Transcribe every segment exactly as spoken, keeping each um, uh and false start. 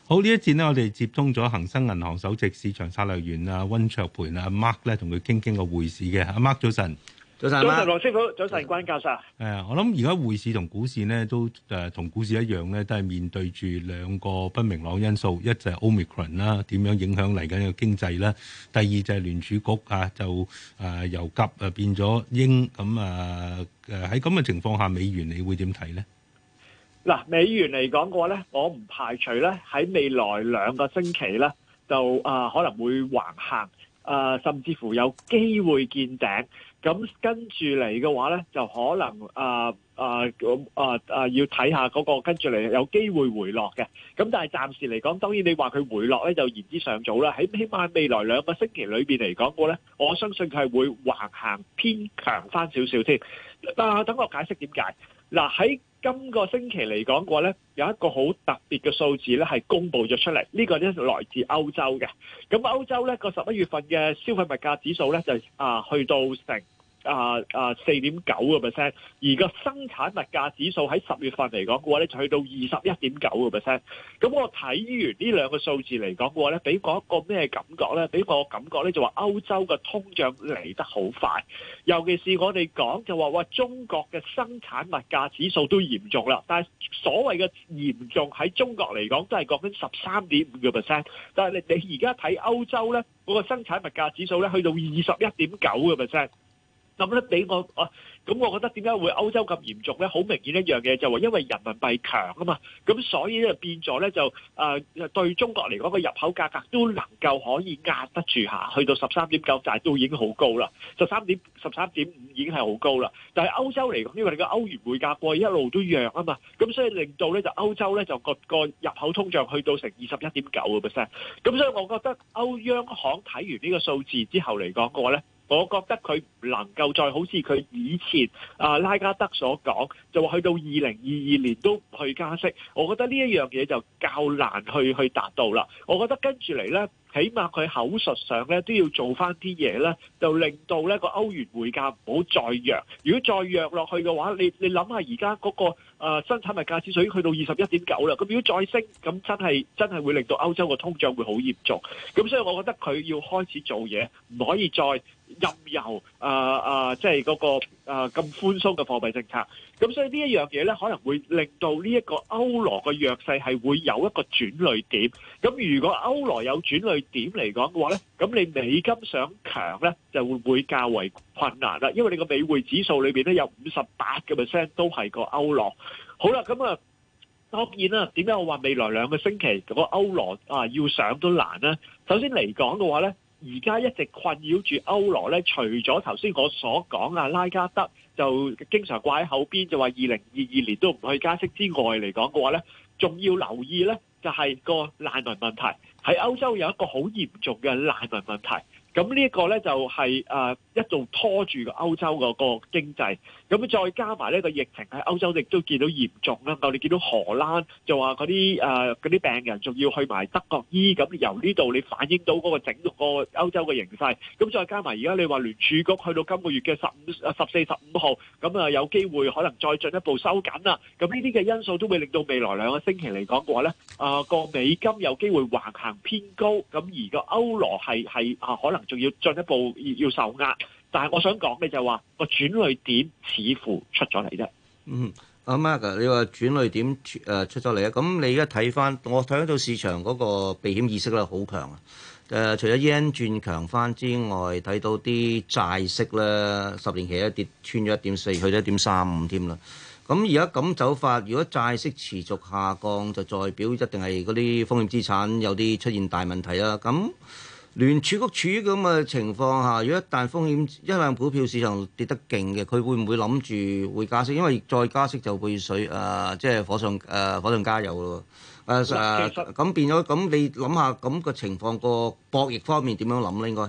好，呢一節呢，我哋接通咗恒生銀行首席市場策略員啊溫卓培啊 Mark 咧，同佢傾傾個匯市嘅。阿 Mark 早晨。 早晨， 早晨，羅師傅，早晨，關教授。誒， 我諗而家匯市同股市呢都誒同股市一樣咧，都係面對住兩個不明朗因素，一就係 Omicron 啦，點樣影響嚟緊嘅經濟啦；第二就係聯儲局啊，就誒由鴿啊變咗鷹，咁啊誒喺咁嘅情況下，美元你會點睇呢？ 嗱，美元嚟講嘅話咧，我唔排除咧喺未來兩個星期咧，就啊、呃、可能會橫行，啊、呃、甚至乎有機會見頂。咁跟住嚟嘅話咧，就可能啊啊咁啊啊要睇下嗰個跟住嚟有機會回落嘅。咁但係暫時嚟講，當然你話佢回落咧就言之尚早啦。喺起碼未來兩個星期裏邊嚟講過咧，我相信佢係會橫行偏強翻少少添。啊，等我解釋點解。嗱，喺今個星期嚟講嘅話咧，有一個好特別嘅數字咧係公布咗出嚟，呢個咧來自歐洲嘅。咁歐洲咧個十一月份嘅消費物價指數咧就啊去到成啊啊四點九個 percent，而個生產物價指數喺十月份嚟講嘅話咧就去到二十一點九個 percent。咁我睇完呢兩個數字嚟講嘅話咧，俾我一個咩感覺咧？俾我感覺咧就話歐洲嘅通脹嚟得好快，尤其是我哋講就話話中國嘅生產物價指數都嚴重啦。但係所謂嘅嚴重喺中國嚟講都係講緊十三點五個 percent，但係你你而家睇歐洲咧嗰個生產物價指數咧去到二十一點九個 percent。咁咧俾我啊，咁我覺得點解會歐洲咁嚴重咧？好明顯一樣嘢就話因為人民幣強啊嘛，咁所以咧變咗咧就啊對中國嚟講個入口價格都能夠可以壓得住下，去到十三點九，但係都已經好高啦，十三點十三點五已經係好高啦。但係歐洲嚟講，因為你個歐元匯價過去一路都弱啊嘛，咁所以令到咧就歐洲咧就個個入口通脹去到成二十一點九個 percent。咁所以我覺得歐央行睇完呢個數字之後嚟講嘅話咧，我覺得佢唔能夠再好似佢以前啊拉加德所講，就話去到二零二二年都唔去加息。我覺得呢一樣嘢就較難去去達到啦。我覺得跟住嚟咧，起碼佢口述上咧都要做翻啲嘢咧，就令到咧個歐元匯價唔好再弱。如果再弱落去嘅話，你你諗下而家嗰個啊生產物價指數已經去到二十一點九啦。咁如果再升，咁真係真係會令到歐洲個通脹會好嚴重。咁所以我覺得佢要開始做嘢，唔可以再任由啊啊，即係嗰個啊咁寬鬆嘅貨幣政策。咁所以呢一樣嘢咧，可能會令到呢一個歐羅嘅弱勢係會有一個轉捩點。咁如果歐羅有轉捩點嚟講嘅話咧，咁你美金想強咧，就會會較為困難啦。因為你個美匯指數裏邊咧有五十八個 percent 都係個歐羅。好啦，咁啊當然啦，點解我話未來兩個星期個歐羅啊要上都難咧？首先嚟講嘅話咧，而家一直困擾住歐羅咧，除咗頭先我所講啊，拉加德就經常掛喺後邊，就話二零二二年都唔去加息之外嚟講嘅話咧，仲要留意咧，就係個難民問題。喺歐洲有一個好嚴重嘅難民問題。咁呢一個咧就係誒一度拖住個歐洲嗰個經濟，咁再加埋呢個疫情喺歐洲亦都見到嚴重啦。我哋見到荷蘭就話嗰啲誒嗰啲病人仲要去埋德國醫，咁由呢度你反映到嗰個整個歐洲嘅形勢。咁再加埋而家你話聯儲局去到今個月嘅十五、十四、十五號，咁啊有機會可能再進一步收緊啦。咁呢啲嘅因素都會令到未來兩個星期嚟講嘅話咧，啊個美金有機會橫行偏高，咁而個歐羅係係啊可能仲要進一步要受壓，但係我想講嘅就係話個轉捩點似乎出咗嚟啫。 嗯，阿 Mark，你話轉捩點誒出咗嚟啊？咁你而家睇翻，我睇到市場嗰個避險意識咧好強啊！誒、呃，除咗 yen 轉強翻之外，睇到啲債息咧，十年期一跌穿咗一點四，去咗一點三五添啦。咁而家咁走法，如果債息持續下降，就代表一定係嗰啲風險資產有啲出現大問題啦。咁聯儲局處於咁嘅情況下，如果一旦風險一旦股票市場跌得勁嘅，佢會唔會諗住會加息？因為再加息就會水誒、呃，即係火上誒、呃、火上加油咯。誒誒咁變咗，咁你諗下咁個情況個博弈方面點樣諗咧？應該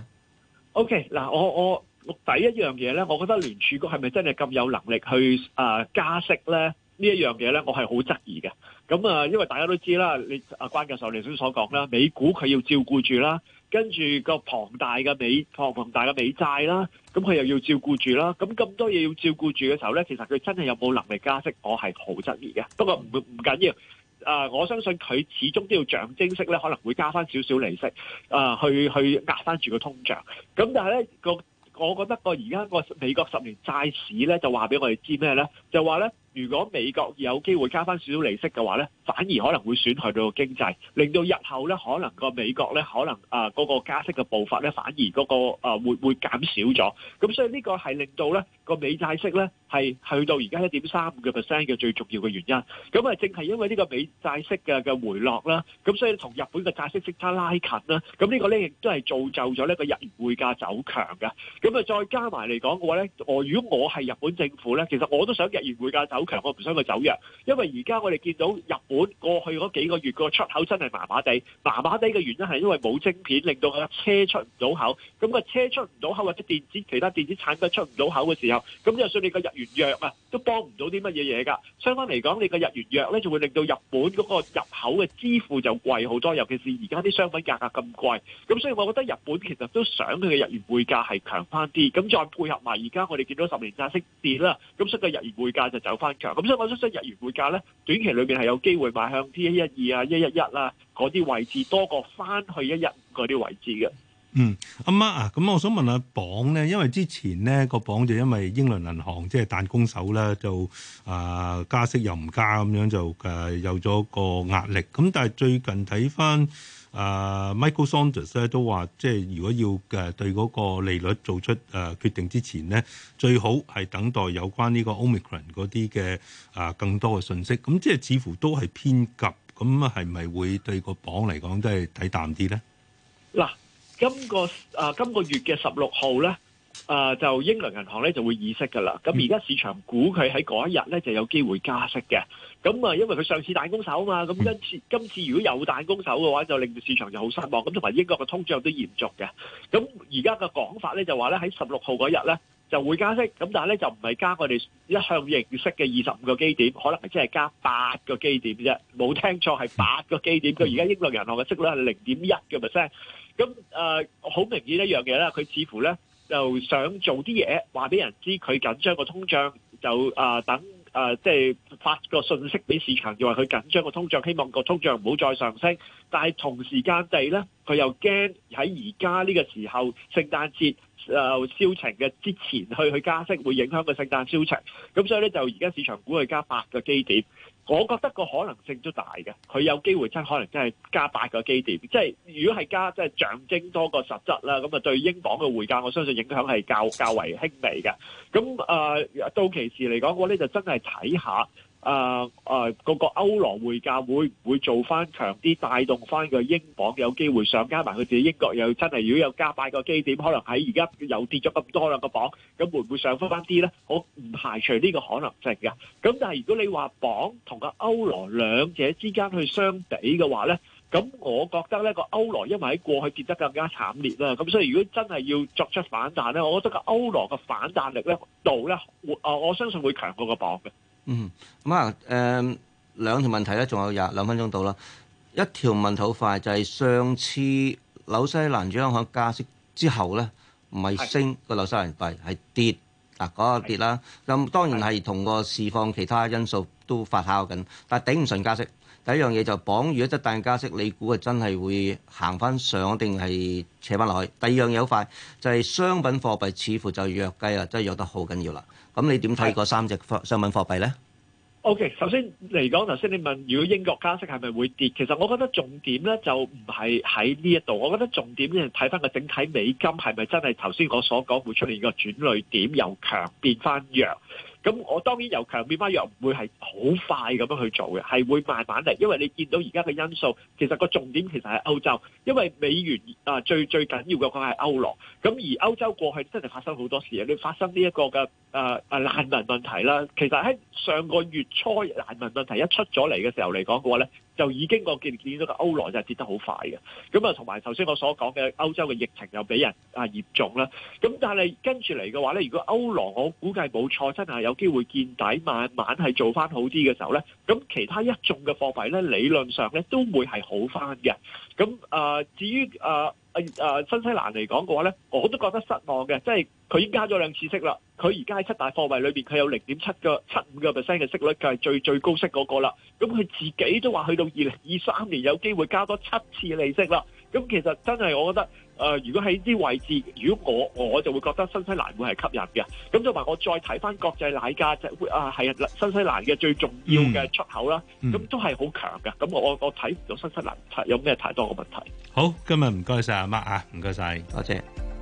OK 嗱，我我第一樣嘢咧，我覺得聯儲局係咪真係咁有能力去誒、呃、加息咧？呢一樣嘢咧，我係好質疑嘅。咁啊，因為大家都知啦，你阿關教授你頭先所講啦，美股佢要照顧住啦，跟住個龐大嘅美龐龐大嘅美債啦，咁佢又要照顧住啦，咁咁多嘢要照顧住嘅時候咧，其實佢真係有冇能力加息，我係好質疑嘅。不過唔唔緊要， 呃，我相信佢始終都要象徵式咧，可能會加翻少少利息，啊、呃，去去壓翻住個通脹。咁但係咧個，我覺得個而家個美國十年債市咧，就話俾我哋知咩咧？就話咧，如果美國有機會加翻少少利息嘅話咧，反而可能會損害到個經濟，令到日後咧可能個美國咧可能啊嗰、呃那個加息嘅步伐咧，反而嗰、那個啊、呃、會會減少咗。咁所以呢個係令到咧個美債息咧係去到而家一點三五個 percent 嘅最重要嘅原因。咁啊，正係因為呢個美債息嘅嘅回落啦，咁所以同日本嘅債息息差拉近啦。咁呢個咧亦都係造就咗呢個日元匯價走強嘅。咁啊，再加埋嚟講嘅話咧，我如果我係日本政府咧，其實我都想日元匯價走強，我唔想佢走弱，因為而家我哋見到日本過去嗰幾個月個出口真係麻麻地，麻麻地嘅原因係因為冇晶片，令到個車出唔到口。咁個車出唔到口或者電子其他電子產品出唔到口嘅時候，咁就算你個日元弱啊，都幫唔到啲乜嘢嘢㗎。相反嚟講，你個日元弱咧，就會令到日本嗰個入口嘅支付就貴好多，尤其是而家啲商品價格咁貴。咁所以我覺得日本其實都想佢嘅日元匯價係強翻啲，咁再配合埋而家我哋見到十年債息跌啦，咁所以個日元匯價就走翻強。咁所以我相信日元匯價咧，短期裏邊係有機會邁向 T 一一二啊、一一一啦嗰啲位置，多過翻去一一五嗰啲位置嘅。 嗯，阿媽啊，咁我想問下鎊咧，因為之前呢個鎊就因為英倫銀行即係彈弓手咧，就啊、呃、加息又唔加咁樣就誒、呃、有咗個壓力。咁但係最近睇翻啊 Michael Saunders 咧都話，即係如果要誒對嗰個利率做出誒、呃、決定之前呢，最好係等待有關呢個 Omicron 嗰啲嘅啊更多嘅信息。咁即係似乎都係偏急，咁係咪會對個鎊嚟講都係睇淡啲咧？ 嗱。今個啊今個月嘅十六號咧，啊就英倫銀行咧就會議息㗎啦。咁而家市場估佢喺嗰一日咧就有機會加息嘅。咁啊，因為佢上次彈弓手啊嘛，咁今次今次如果有彈弓手嘅話，就令到市場就好失望。咁同埋英國嘅通脹都嚴重嘅。咁而家嘅講法咧就話咧喺十六號嗰日咧就會加息，咁但係咧就唔係加我哋一向認識嘅二十五個基點，可能係即係加八個基點啫。冇聽錯，係八個基點。佢而家英倫銀行嘅息率係零點一嘅 percent。咁誒好明顯一樣嘢啦，佢似乎咧就想做啲嘢，話俾人知佢緊張個通脹，就啊、呃、等啊即係發個訊息俾市場，就話佢緊張個通脹，希望個通脹唔好再上升。但係同時間地咧，佢又驚喺而家呢個時候聖誕節誒銷情嘅之前去去加息，會影響個聖誕銷情。咁所以咧就而家市場估佢加八個基點。我覺得個可能性都大嘅，佢有機會真可能真係加八個基點，即係如果係加即係象徵多過實質啦，咁啊對英鎊嘅匯價，我相信影響係較較為輕微嘅。咁誒、呃、到期時嚟講，我呢就真係睇下誒誒嗰個歐羅匯價會唔會做翻強啲，帶動翻個英鎊有機會上，加埋佢自己英國又真係如果有加八個基點，可能喺而家又跌咗咁多兩個鎊，咁會唔會上翻翻啲咧？我唔排除呢個可能性嘅。咁但係如果你話鎊同個歐羅兩者之間去相比嘅話咧，咁我覺得咧個歐羅因為喺過去跌得更加慘烈啦，咁所以如果真係要作出反彈咧，我覺得個歐羅嘅反彈力咧度咧，我我相信會強過個鎊嘅。 嗯，咁啊，誒兩條問題咧，仲有廿兩分鐘到啦。一條問題好快，就係、是、上次紐西蘭央行加息之後咧，唔係升個紐西蘭幣係跌，嗱、那、嗰個跌啦。咁當然係同個市況其他因素都發酵緊，但係頂唔順加息。第一樣嘢就綁，如果一旦加息，你估係真係會行翻上定係扯翻落去？第二樣嘢好快，就係、是、商品貨幣似乎就弱雞啦，真係弱得好緊要啦。咁你點睇嗰三隻商品貨幣咧？ O.K. 首先嚟講，頭先你問如果英國加息係咪會跌？其實我覺得重點咧就唔係喺呢一度，我覺得重點咧睇翻個整體美金係咪真係頭先我所講會出現個轉捩點，由強變翻弱。咁我當然由強變翻弱唔會係好快咁樣去做嘅，係會慢慢嚟。因為你見到而家嘅因素，其實個重點其實係歐洲，因為美元啊最最緊要嘅講係歐羅。咁而歐洲過去真係發生好多事啊！你發生呢一個嘅誒誒難民問題啦，其實喺上個月初難民問題一出咗嚟嘅時候嚟講嘅話咧，就已經我見見到個歐羅就係跌得好快嘅。咁啊，同埋頭先我所講嘅歐洲嘅疫情又俾人啊嚴重啦。咁但係跟住嚟嘅話咧，如果歐羅我估計冇錯，真係有機會見底，慢慢係做翻好啲嘅時候咧，咁其他一眾嘅貨幣咧，理論上咧都會係好翻嘅。咁啊、呃，至於啊啊啊新西蘭嚟講嘅話咧，我都覺得失望嘅，即係佢已經加咗兩次息啦。佢而家喺七大貨幣裏邊，佢有零點七個七五個 percent 嘅息率，就係最最高息嗰個啦。咁佢自己都話去到二零二三年有機會加多七次利息啦。咁其實真係我覺得，誒、呃，如果喺啲位置，如果我我就會覺得新西蘭會係吸引嘅。咁同埋我再睇翻國際奶價，就會啊係啊新西蘭嘅最重要嘅出口啦。咁、嗯、都係好強嘅。咁我我睇唔到新西蘭有咩太多嘅問題。 好，今日唔該晒阿 Mark 啊，唔該晒， 多謝。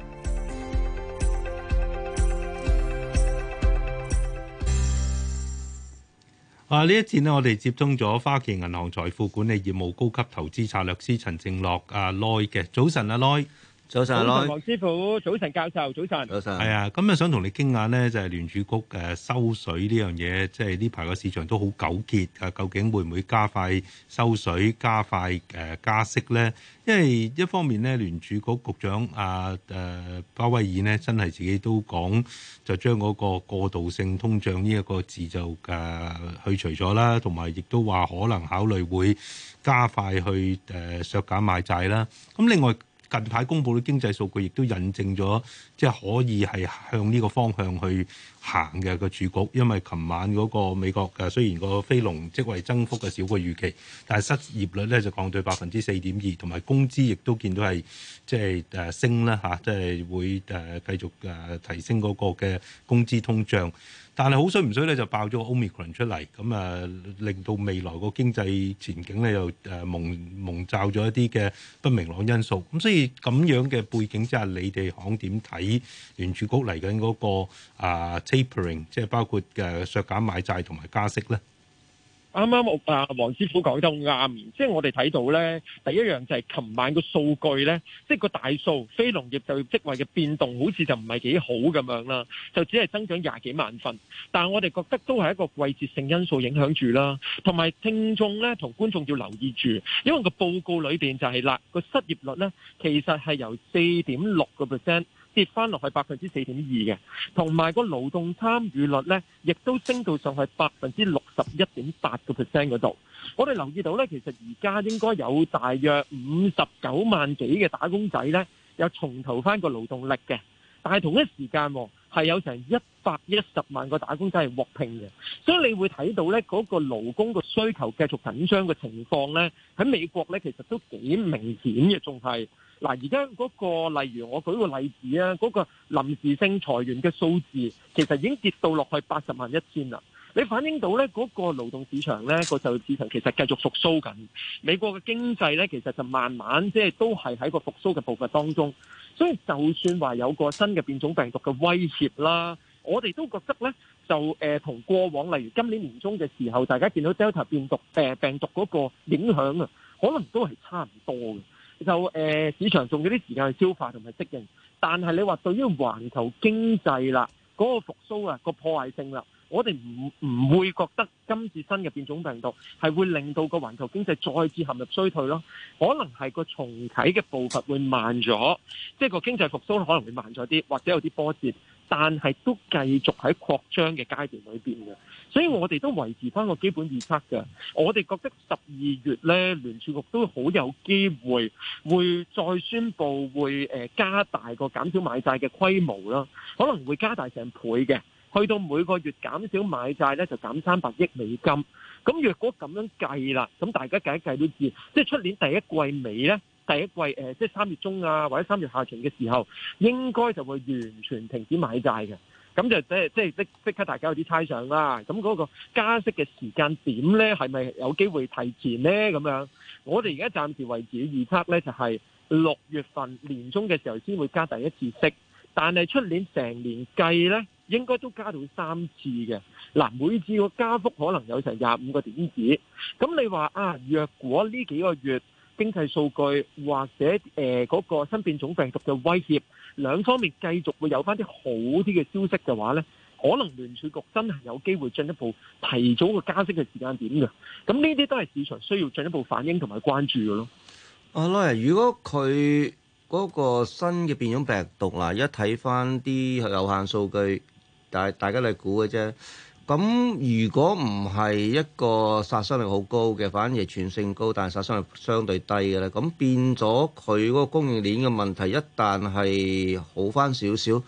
啊！呢一節呢，我哋接通咗花旗銀行財富管理業務高級投資策略師陳正犖阿 Loy 嘅。早晨，阿 Loy。 早晨，阿 Loy。 黃師傅，早晨教授，早晨。 早晨。 係啊，咁啊想同你傾下呢，就係聯儲局誒收水呢樣嘢，即係呢排個市場都好糾結啊，究竟會唔會加快收水、加快誒加息呢？因為一方面呢，聯儲局局長阿誒鮑威爾呢，真係自己都講，就將嗰個過渡性通脹呢一個字就誒去除咗啦，同埋亦都話可能考慮會加快去誒削減買債啦。咁另外，近排公布嘅經濟數據亦都印證咗，即係可以係向呢個方向去行嘅個儲局，因為琴晚嗰個美國嘅雖然個非農職位增幅嘅少過預期，但係失業率咧就降到百分之四點二，同埋工資亦都見到係即係誒升啦嚇，即係會誒繼續誒提升嗰個嘅工資通脹。但係好衰唔衰咧，就爆咗個 Omicron 出嚟，咁啊令到未來個經濟前景咧又誒蒙蒙罩咗一啲嘅不明朗因素。咁所以咁樣嘅背景之下，你哋行點睇聯儲局嚟緊嗰個啊 tapering， 即係包括嘅削減買債同埋加息咧？ 啱啱我啊黃師傅講得好啱，即係我哋睇到咧，第一樣就係琴晚個數據咧，即係個大數非農業就業職位嘅變動，好似就唔係幾好咁樣啦，就只係增長廿幾萬份。但係我哋覺得都係一個季節性因素影響住啦，同埋聽眾咧同觀眾要留意住，因為個報告裏邊就係啦，個失業率咧其實係由四點六個 percent。跌翻落去百分之四點二嘅，同埋個勞動參與率咧，亦都升到上去百分之六十一點八個 percent 嗰度。我哋留意到咧，其實而家應該有大約五十九萬幾嘅打工仔咧，有重投翻個勞動力嘅，但係同一時間係有成一百一十萬個打工仔係獲聘嘅，所以你會睇到咧嗰個勞工個需求繼續緊張嘅情況咧，喺美國咧其實都幾明顯嘅，仲係。嗱，而家嗰個例如我舉個例子啊，嗰個臨時性裁員嘅數字其實已經跌到落去八十萬一千啦。你反映到咧嗰個勞動市場咧個就業市場其實繼續復甦緊。美國嘅經濟咧其實就慢慢即係都係喺個復甦嘅步伐當中。所以就算話有個新嘅變種病毒嘅威脅啦，我哋都覺得咧就誒同、呃、過往例如今年年中嘅時候，大家見到 Delta 變毒誒、呃、病毒嗰個影響啊，可能都係差唔多嘅。就誒、呃、市場仲有啲時間去消化同埋適應，但係你話對於環球經濟啦，嗰、那個復甦啊，個破壞性啦，我哋唔唔會覺得今次新嘅變種病毒係會令到個環球經濟再次陷入衰退咯，可能係個重啟嘅步伐會慢咗，即係個經濟復甦可能會慢咗啲，或者有啲波折，但係都繼續喺擴張嘅階段裏邊嘅。所以我哋都維持翻個基本預測嘅，我哋覺得十二月咧聯儲局都好有機會會再宣布會誒加大個減少買債嘅規模啦，可能會加大成倍嘅，去到每個月減少買債咧就減三百億美金。咁若果咁樣計啦，咁大家計一計都知，即係出年第一季尾咧，第一季誒、呃、即係三月中啊或者三月下旬嘅時候，應該就會完全停止買債嘅。咁就即係即係即即刻大家有啲猜想啦。咁嗰個加息嘅時間點咧，係咪有機會提前咧？咁樣，我哋而家暫時為止嘅預測咧，就係六月份年中嘅時候先會加第一次息，但係出年成年計咧，應該都加到三次嘅。嗱，每次個加幅可能有成廿五個點子。咁你話啊，若果呢幾個月經濟數據或者誒嗰、呃那個新變種病毒嘅威脅，兩方面繼續會有翻啲好啲嘅消息嘅話呢，可能聯儲局真係有機會進一步提早個加息嘅時間點嘅。咁呢啲都係市場需要進一步反應同埋關注嘅咯。 阿 Lo，如果佢嗰個新嘅變種病毒嗱，一睇翻啲有限數據，但係大家嚟估嘅啫。咁如果唔係一個殺傷力好高嘅，反而係傳性高，但係殺傷力相對低嘅咧，咁變咗佢嗰個供應鏈嘅問題，一旦係好翻少少，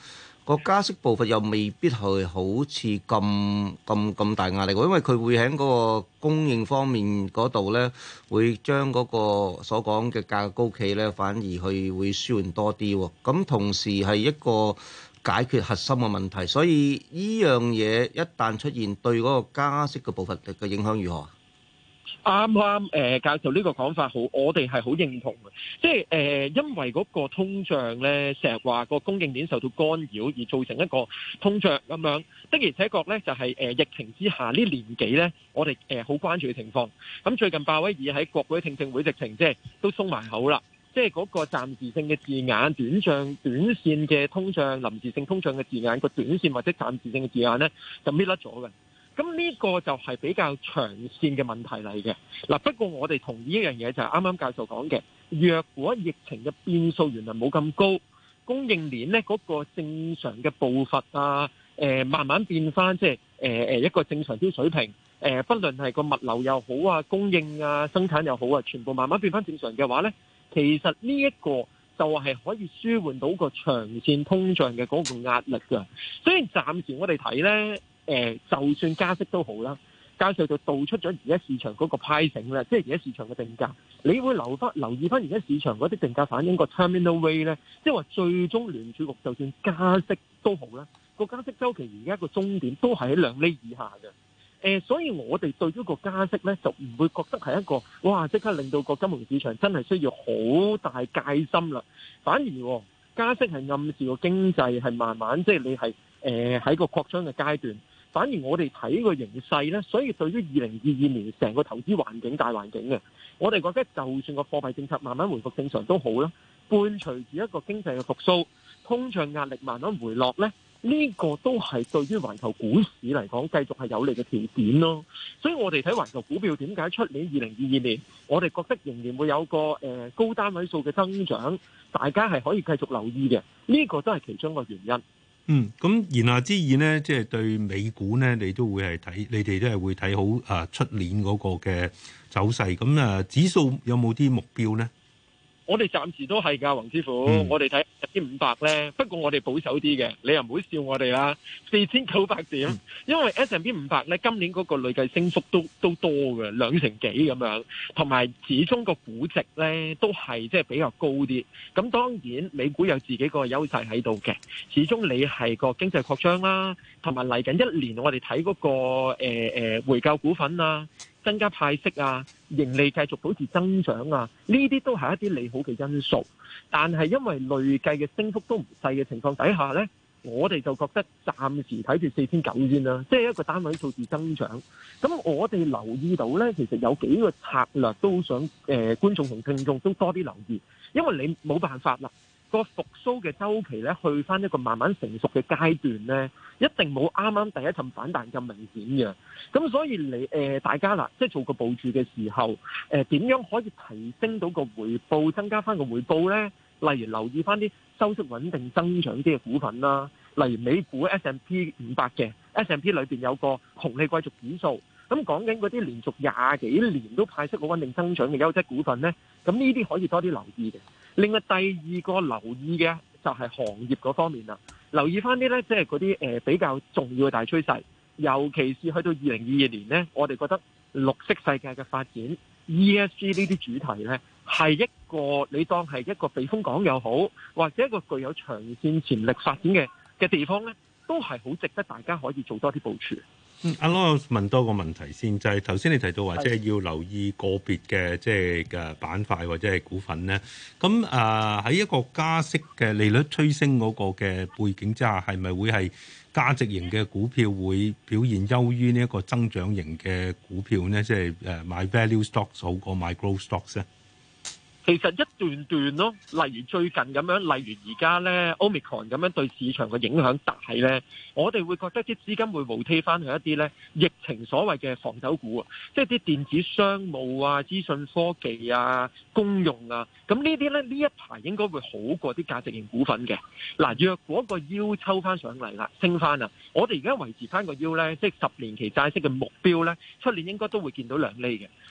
個加息步伐又未必係好似咁咁咁大壓力喎，因為佢會喺嗰個供應方面嗰度咧，會將嗰個所講嘅價格高企咧，反而去會舒緩多啲喎。咁同時係一個解決核心嘅問題，所以呢樣嘢一旦出現，對嗰個加息嘅步伐嘅影響如何？ 啱啱誒教授呢個講法好，我哋係好認同嘅，即係誒、呃、因為嗰個通脹咧，成日話個供應鏈受到干擾而造成一個通脹咁樣，的而且確咧就係、是、誒、呃、疫情之下呢年幾咧，我哋誒好關注嘅情況。咁最近鮑威爾喺國會聽證會直情即係都鬆埋口啦，即係嗰個暫時性嘅字眼、短漲、短線嘅通脹、臨時性通脹嘅字眼，個短線或者暫時性嘅字眼咧就搣甩咗嘅。咁呢個就係比較長線嘅問題嚟嘅。嗱，不過我哋同意一樣嘢，就係啱啱教授講嘅，若果疫情嘅變數原來冇咁高，供應鏈呢嗰個正常嘅步伐啊，誒慢慢變翻，即係誒誒一個正常啲水平。誒，不論係個物流又好啊，供應啊，生產又好啊，全部慢慢變翻正常嘅話呢，其實呢一個就係可以舒緩到個長線通脹嘅嗰個壓力㗎。所以暫時我哋睇呢。誒、呃，就算加息都好啦，教授就道出咗而家市場嗰個 pricing 咧，即係而家市場嘅定價，你會留翻留意翻而家市場嗰啲定價反映個 terminal rate 咧，即係話最終聯儲局就算加息都好啦，個加息周期而家個終點都係喺兩厘以下嘅。誒、呃，所以我哋對於個加息咧，就唔會覺得係一個哇，即刻令到個金融市場真係需要好大戒心啦。反而、哦、加息係暗示個經濟係慢慢即係你係誒喺個擴張嘅階段。反而我哋睇個形勢呢，所以對於二零二二年成個投資環境大環境嘅，我哋覺得就算個貨幣政策慢慢回復正常都好啦，伴隨住一個經濟嘅復甦，通脹壓力慢慢回落呢，呢個都係對於環球股市嚟講繼續係有利嘅條件咯。所以我哋睇環球股票點解出年二零二二年，我哋覺得仍然會有個誒高單位數嘅增長，大家係可以繼續留意嘅，呢個都係其中一個原因。 嗯，咁言下之意呢，即係對美股呢，你都會係睇，你哋都係會睇好啊出年嗰個嘅走勢。咁啊，指數有冇啲目標呢？ 我哋暫時都係㗎，黃師傅。嗯、我哋睇一千五百咧，不過我哋保守啲嘅，你又唔好笑我哋啦。四千九百點，嗯、因為 S and P 五百咧今年嗰個累計升幅都都多嘅，兩成幾咁樣，同埋始終個估值咧都係即係比較高啲。咁當然美股有自己個優勢喺度嘅，始終你係個經濟擴張啦，同埋嚟緊一年我哋睇嗰個誒誒回購股份啊。增加派息啊，盈利繼續保持增長啊，呢啲都係一啲利好嘅因素。但係因為累計嘅升幅都唔細嘅情況底下呢，我哋就覺得暫時睇住四千九先啦，即係一個單位數字增長。咁我哋留意到呢，其實有幾個策略都想誒、呃、觀眾同聽眾都多啲留意，因為你冇辦法啦。個復甦嘅周期咧，去翻一個慢慢成熟嘅階段咧，一定冇啱啱第一陣反彈咁明顯嘅。咁所以你誒、呃、大家啦，即係做個部署嘅時候，誒、呃、點樣可以提升到個回報，增加翻個回報咧？例如留意翻啲收息穩定增長啲嘅股份啦，例如美股 S and P 五百嘅 S and P 裏邊有個紅利貴族指數，咁講緊嗰啲連續廿幾年都派息好穩定增長嘅優質股份咧，咁呢啲可以多啲留意嘅。另外第二個留意嘅就係行業嗰方面啦，留意翻啲咧，即係嗰啲誒比較重要嘅大趨勢，尤其是去到二零二二年咧，我哋覺得綠色世界嘅發展 E S G 呢啲主題咧，係一個你當係一個避風港又好，或者一個具有長線潛力發展嘅嘅地方咧，都係好值得大家可以做多啲部署。 嗯，阿羅問多個問題先，就係頭先你提到話，即係要留意個別嘅即係嘅板塊或者係股份咧。咁啊喺一個加息嘅利率趨升嗰個嘅背景之下，係咪會係價值型嘅股票會表現優於呢一個增長型嘅股票呢？即係誒買 value stocks 好過買 growth stocks 咧？ 其實一段段咯，例如最近咁樣，例如而家咧 Omicron 咁樣對市場嘅影響大咧，我哋會覺得啲資金會回推翻去一啲咧疫情所謂嘅防守股啊，即係啲電子商務啊、資訊科技啊、公用啊，咁呢啲咧呢一排應該會好過啲價值型股份嘅。嗱，若果個腰抽翻上嚟啦，升翻啦，我哋而家維持翻個腰咧，即係十年期債息嘅目標咧，出年應該都會見到兩厘嘅。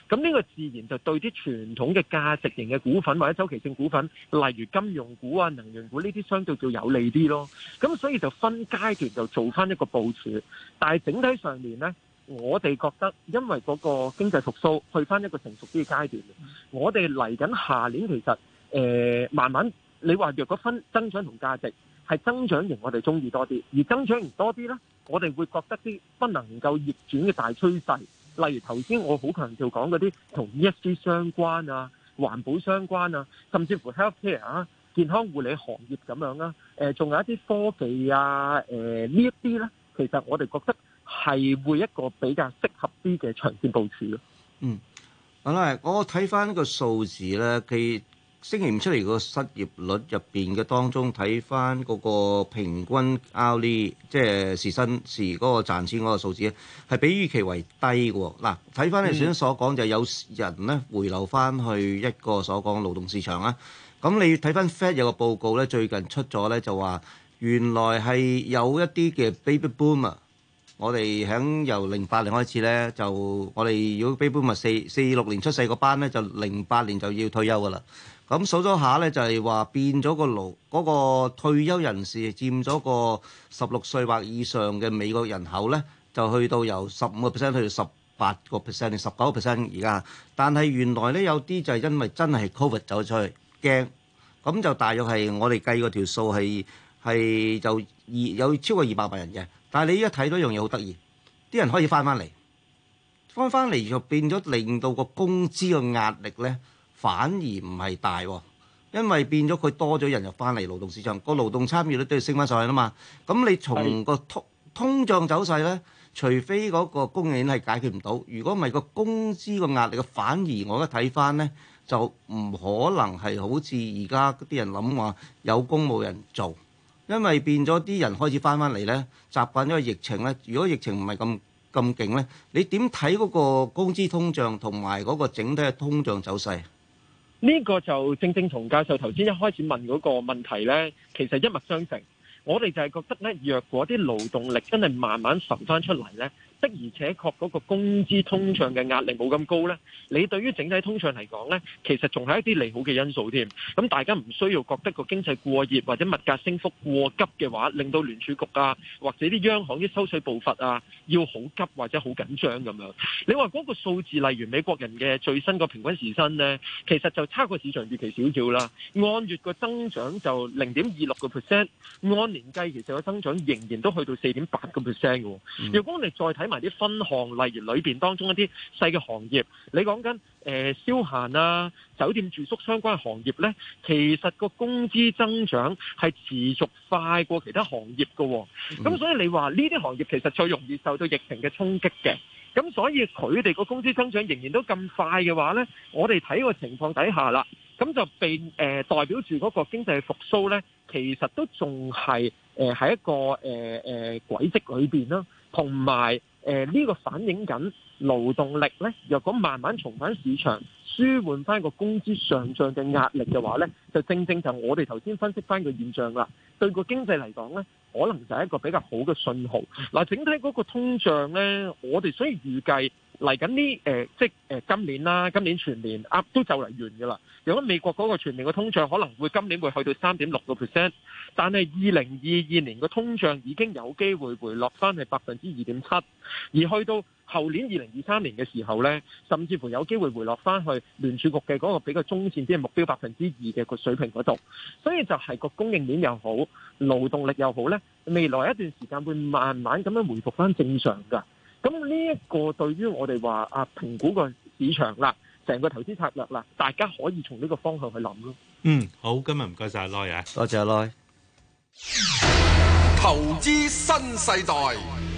咁呢個自然就對啲傳統嘅價值型嘅股份或者周期性股份，例如金融股啊、能源股呢啲，相對叫有利啲咯。咁所以就分階段就做翻一個部署，但係整體上面呢，我哋覺得因為嗰個經濟復甦去翻一個成熟啲嘅階段，我哋嚟緊下年其實誒、呃、慢慢，你話若果分增長同價值，係增長型我哋中意多啲，而增長型多啲呢，我哋會覺得啲不能夠逆轉嘅大趨勢，例如頭先我好強調講嗰啲同 E S G 相關啊、環保相關啊，甚至乎 healthcare 啊、健康護理行業咁樣啦，誒、呃，仲有一啲科技啊，誒、呃、呢一啲呢，其實我哋覺得係會一個比較適合啲嘅長線部署咯。 嗯，好啦，我睇翻個數字咧，佢星期五出嚟個失業率入邊嘅當中，睇翻嗰個平均 hourly 即係時薪時嗰個賺錢嗰個數字咧，係比預期為低嘅喎。嗱，睇翻你頭先所講就係有人咧回流翻去一個所講勞動市場啦。咁你睇翻 Fed 有個報告咧，最近出咗咧就話原來係有一啲嘅 baby boomer。我哋喺由零八年開始咧，就我哋如果 baby boomer四四六年出世個班咧，就零八年就要退休噶啦。咁數咗下咧，就係話變咗個勞嗰個退休人士佔咗個十六歲或以上嘅美國人口咧，就去到由十五個 percent 去到十八個 percent 定十九個 percent 而家。但係原來咧有啲就係因為真係 covid 走出去驚，咁就大約係我哋計嗰條數係係就二有超過二百萬人嘅。但係你依家睇到一樣嘢好得意，啲人可以翻翻嚟，翻翻嚟就變咗令到個工資嘅壓力咧，反而唔係大喎，因為變咗佢多咗人入翻嚟勞動市場，個勞動參與率都要升翻上去啦嘛。咁你從個通通脹走勢咧，除非嗰個供應鏈係解決唔到，如果唔係個工資個壓力嘅，反而我而家睇翻咧，就唔可能係好似而家啲人諗話有工冇人做。因為變咗啲人開始翻翻嚟咧，習慣咗個疫情咧。如果疫情唔係咁咁勁咧，你點睇嗰個工資通脹同埋嗰個整體嘅通脹走勢？ 呢個就正正同教授頭先一開始問嗰個問題咧，其實一脈相承。我哋就係覺得咧，若果啲勞動力真係慢慢浮翻出嚟咧，的而且確嗰個工資通脹嘅壓力冇咁高咧，你對於整體通脹嚟講咧，其實仲係一啲利好嘅因素添。咁大家唔需要覺得個經濟過熱或者物價升幅過急嘅話，令到聯儲局啊或者啲央行啲收水步伐啊要好急或者好緊張咁樣。你話嗰個數字，例如美國人嘅最新個平均時薪咧，其實就差過市場預期少少啦。按月個增長就零點二六個 percent， 按年計其實個增長仍然都去到四點八個 percent 嘅。如果我哋再睇埋啲分項，例如裏邊當中一啲細嘅行業，你講緊誒消閒啊、酒店住宿相關嘅行業咧，其實個工資增長係持續快過其他行業嘅。咁所以你話呢啲行業其實最容易受到疫情嘅衝擊嘅。咁所以佢哋個工資增長仍然都咁快嘅話咧，我哋睇個情況底下啦，咁就被誒、呃、代表住嗰個經濟復甦咧，其實都仲係誒喺一個誒誒軌跡裏邊啦，同埋誒呢個反映緊勞動力咧，若果慢慢重返市場，舒緩翻個工資上漲嘅壓力嘅話咧，就正正就我哋頭先分析翻個現象啦。對個經濟嚟講咧，可能就係一個比較好嘅信號。嗱，整體嗰個通脹咧，我哋所以預計嚟緊呢誒，即係誒今年啦，今年全年啊都就嚟完㗎啦。如果美國嗰個全年嘅通脹可能會今年會去到三點六個 percent，但係二零二二年嘅通脹已經有機會回落翻係百分之二點七，而去到後年二零二三年嘅時候咧，甚至乎有機會回落翻去聯儲局嘅嗰個比較中線啲嘅目標百分之二嘅個水平嗰度。所以就係個供應鏈又好，勞動力又好咧，未來一段時間會慢慢咁樣回復翻正常㗎。咁呢一個對於我哋話啊評估個市場啦，成個投資策略啦，大家可以從呢個方向去諗咯。 嗯，好，今日唔該晒阿 Loy啊， 多謝阿 Loy。 投資新世代。